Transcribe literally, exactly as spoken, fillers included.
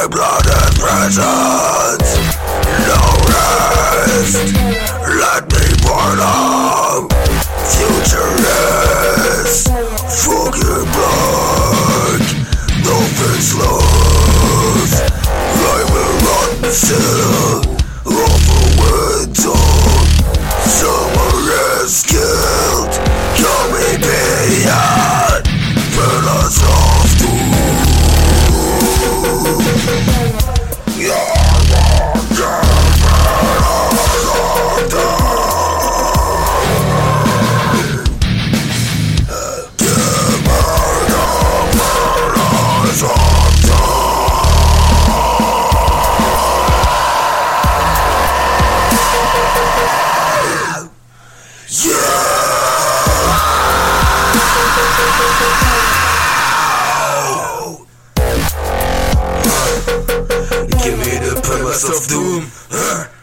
my blood and presence. No rest, let me burn up. Futureless, fucking black. No faceless, I will run still over winter. Summer is killed, coming beyond. Burn us off too. Give me the purpose of doom.